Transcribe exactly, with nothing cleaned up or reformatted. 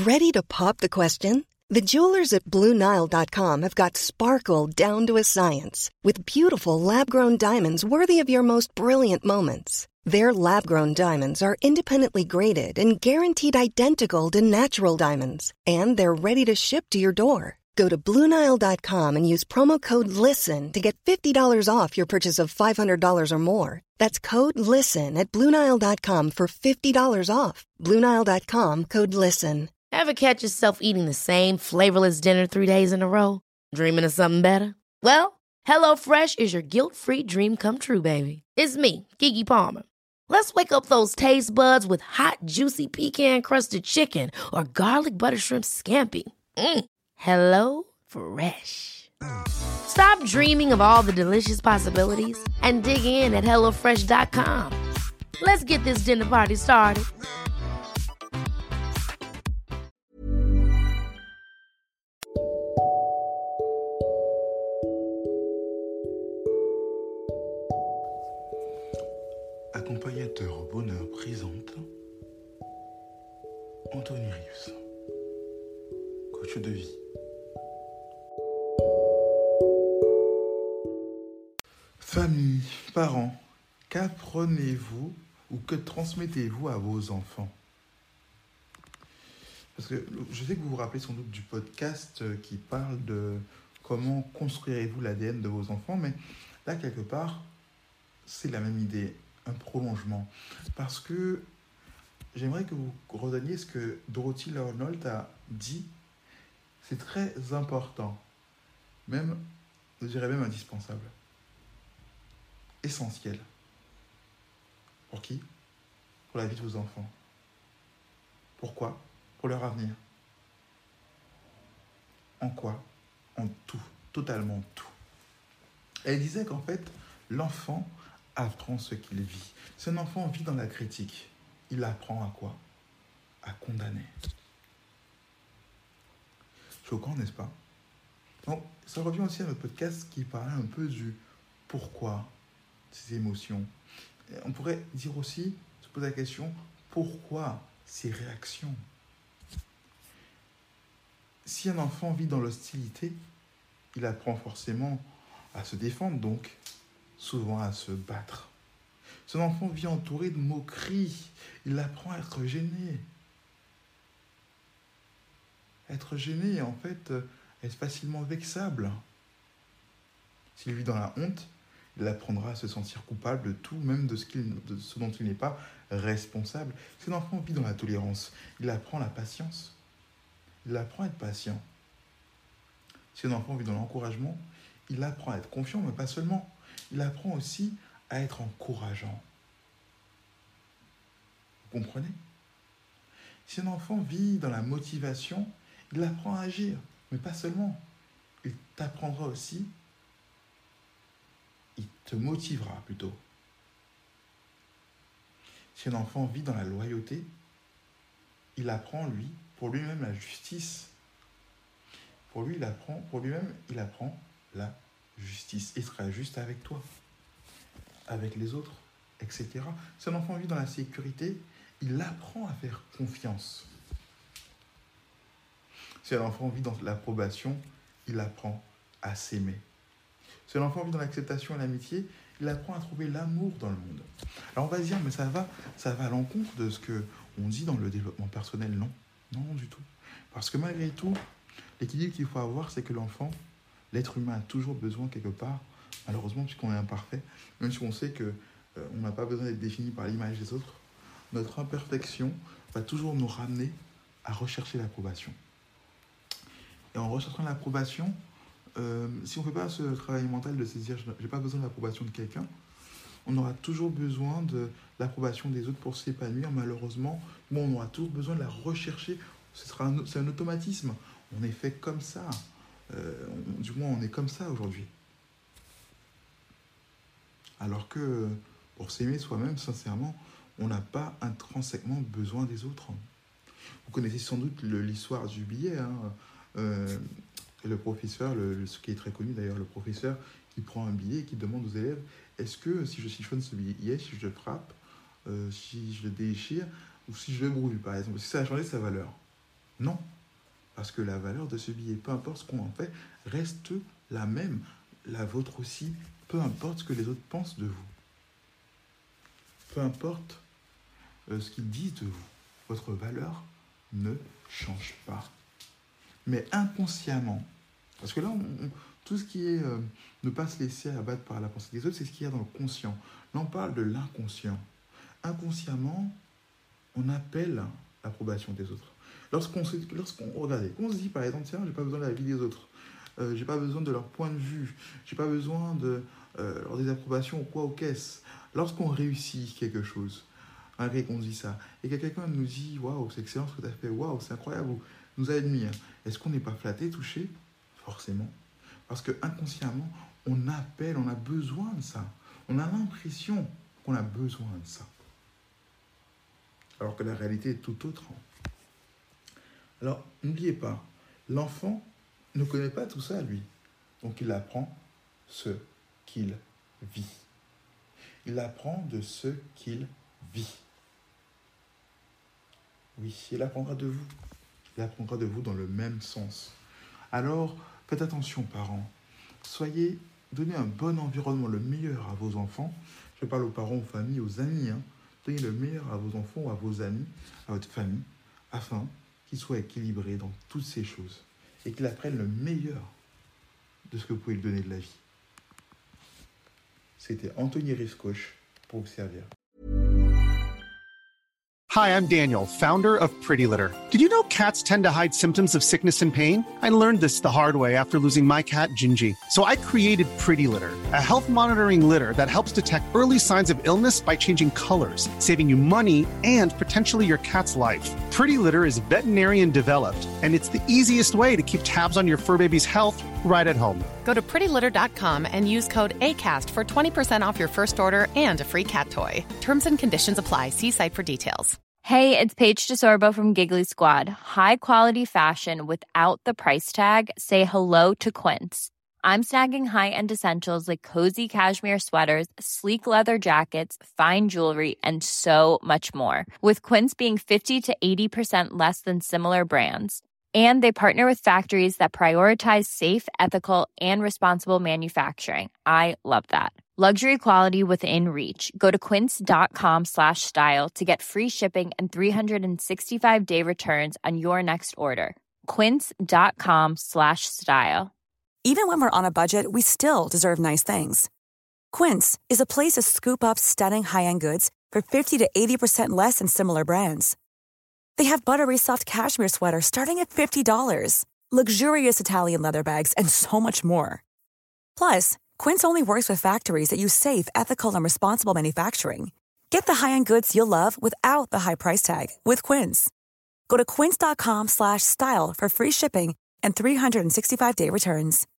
Ready to pop the question? The jewelers at Blue Nile dot com have got sparkle down to a science with beautiful lab-grown diamonds worthy of your most brilliant moments. Their lab-grown diamonds are independently graded and guaranteed identical to natural diamonds, and they're ready to ship to your door. Go to Blue Nile dot com and use promo code LISTEN to get fifty dollars off your purchase of five hundred dollars or more. That's code LISTEN at Blue Nile dot com for fifty dollars off. Blue Nile dot com, code LISTEN. Ever catch yourself eating the same flavorless dinner three days in a row? Dreaming of something better? Well, HelloFresh is your guilt-free dream come true, baby. It's me, Keke Palmer. Let's wake up those taste buds with hot, juicy pecan-crusted chicken or garlic butter shrimp scampi. Mm. Hello Fresh. Stop dreaming of all the delicious possibilities and dig in at hello fresh dot com. Let's get this dinner party started. Accompagnateur bonheur présente Anthony Rius, coach de vie. Famille, parents, qu'apprenez-vous ou que transmettez-vous à vos enfants? Parce que je sais que vous vous rappelez sans doute du podcast qui parle de comment construirez-vous l'A D N de vos enfants, mais là, quelque part, c'est la même idée, un prolongement. Parce que j'aimerais que vous reteniez ce que Dorothy Arnold a dit. C'est très important, même, je dirais même indispensable. Essentiel. Pour qui? Pour la vie de vos enfants. Pourquoi? Pour leur avenir. En quoi? En tout. Totalement tout. Elle disait qu'en fait, l'enfant apprend ce qu'il vit. Si un enfant vit dans la critique, il apprend à quoi? À condamner. Choquant, n'est-ce pas? Donc, ça revient aussi à notre podcast qui parlait un peu du pourquoi ces émotions. On pourrait dire aussi, se poser la question, pourquoi ces réactions? Si un enfant vit dans l'hostilité, il apprend forcément à se défendre, donc souvent à se battre. Si un enfant vit entouré de moqueries, il apprend à être gêné. Être gêné, en fait, est facilement vexable. S'il vit dans la honte, il apprendra à se sentir coupable de tout, même de ce, qu'il, de ce dont il n'est pas responsable. Si un enfant vit dans la tolérance, il apprend la patience. Il apprend à être patient. Si un enfant vit dans l'encouragement, il apprend à être confiant, mais pas seulement. Il apprend aussi à être encourageant. Vous comprenez? Si un enfant vit dans la motivation, il apprend à agir, mais pas seulement. Il t'apprendra aussi, il te motivera plutôt. Si un enfant vit dans la loyauté, il apprend, lui, pour lui-même la justice. Pour lui, il apprend, pour lui-même, il apprend la justice. Il sera juste avec toi, avec les autres, et cetera. Si un enfant vit dans la sécurité, il apprend à faire confiance. Si un enfant vit dans l'approbation, il apprend à s'aimer. Si un enfant vit dans l'acceptation et l'amitié, il apprend à trouver l'amour dans le monde. Alors on va se dire, mais ça va, ça va à l'encontre de ce qu'on dit dans le développement personnel. Non, non du tout. Parce que malgré tout, l'équilibre qu'il faut avoir, c'est que l'enfant, l'être humain a toujours besoin quelque part, malheureusement puisqu'on est imparfait, même si on sait qu'on euh, n'a pas besoin d'être défini par l'image des autres, notre imperfection va toujours nous ramener à rechercher l'approbation. Et en recherchant l'approbation, euh, si on ne fait pas ce travail mental de se dire « j'ai pas besoin de l'approbation de quelqu'un », on aura toujours besoin de l'approbation des autres pour s'épanouir. Malheureusement, bon, on aura toujours besoin de la rechercher. Ce sera un, c'est un automatisme. On est fait comme ça. Euh, on, du moins, on est comme ça aujourd'hui. Alors que pour s'aimer soi-même, sincèrement, on n'a pas intrinsèquement besoin des autres. Vous connaissez sans doute le, l'histoire du billet. Hein. Euh, le professeur, le, le, ce qui est très connu d'ailleurs, le professeur qui prend un billet et qui demande aux élèves « Est-ce que si je siphonne ce billet, si je le frappe, euh, si je le déchire ou si je le brûle, par exemple, si ça a changé sa valeur ?» Non, parce que la valeur de ce billet, peu importe ce qu'on en fait, reste la même. La vôtre aussi, peu importe ce que les autres pensent de vous. Peu importe euh, ce qu'ils disent de vous. Votre valeur ne change pas. Mais inconsciemment, parce que là, on, on, tout ce qui est euh, ne pas se laisser abattre par la pensée des autres, c'est ce qu'il y a dans le conscient. Là, on parle de l'inconscient. Inconsciemment, on appelle l'approbation des autres. Lorsqu'on, se, lorsqu'on regardez, on se dit par exemple, tiens, j'ai pas besoin de la vie des autres, euh, j'ai pas besoin de leur point de vue, j'ai pas besoin de euh, leur désapprobation ou quoi, ou qu'est-ce. Lorsqu'on réussit quelque chose, malgré qu'on dit ça, et que quelqu'un nous dit, waouh, c'est excellent ce que tu as fait, waouh, c'est incroyable, ou nous admire, est-ce qu'on n'est pas flatté, touché? Forcément. Parce que inconsciemment, on appelle, on a besoin de ça. On a l'impression qu'on a besoin de ça. Alors que la réalité est tout autre. Alors, n'oubliez pas, l'enfant ne connaît pas tout ça, lui. Donc, il apprend ce qu'il vit. Il apprend de ce qu'il vit. Oui, il apprendra de vous. Il apprendra de vous dans le même sens. Alors, faites attention, parents. Soyez, donnez un bon environnement, le meilleur à vos enfants. Je parle aux parents, aux familles, aux amis. Hein. Donnez le meilleur à vos enfants ou à vos amis, à votre famille, afin qu'ils soient équilibrés dans toutes ces choses et qu'ils apprennent le meilleur de ce que vous pouvez lui donner de la vie. C'était Anthony Riscoche pour vous servir. Hi, I'm Daniel, founder of Pretty Litter. Did you know cats tend to hide symptoms of sickness and pain? I learned this the hard way after losing my cat, Gingy. So I created Pretty Litter, a health monitoring litter that helps detect early signs of illness by changing colors, saving you money and potentially your cat's life. Pretty Litter is veterinarian developed, and it's the easiest way to keep tabs on your fur baby's health right at home. Go to pretty litter dot com and use code ACAST for twenty percent off your first order and a free cat toy. Terms and conditions apply. See site for details. Hey, it's Paige DeSorbo from Giggly Squad. High quality fashion without the price tag. Say hello to Quince. I'm snagging high-end essentials like cozy cashmere sweaters, sleek leather jackets, fine jewelry, and so much more. With Quince being fifty to eighty percent less than similar brands. And they partner with factories that prioritize safe, ethical, and responsible manufacturing. I love that. Luxury quality within reach. Go to quince.com slash style to get free shipping and three sixty-five day returns on your next order. Quince.com slash style. Even when we're on a budget, we still deserve nice things. Quince is a place to scoop up stunning high-end goods for fifty to eighty percent less than similar brands. They have buttery soft cashmere sweaters starting at fifty dollars, luxurious Italian leather bags, and so much more. Plus, Quince only works with factories that use safe, ethical, and responsible manufacturing. Get the high-end goods you'll love without the high price tag with Quince. Go to quince.com slash style for free shipping and three sixty-five day returns.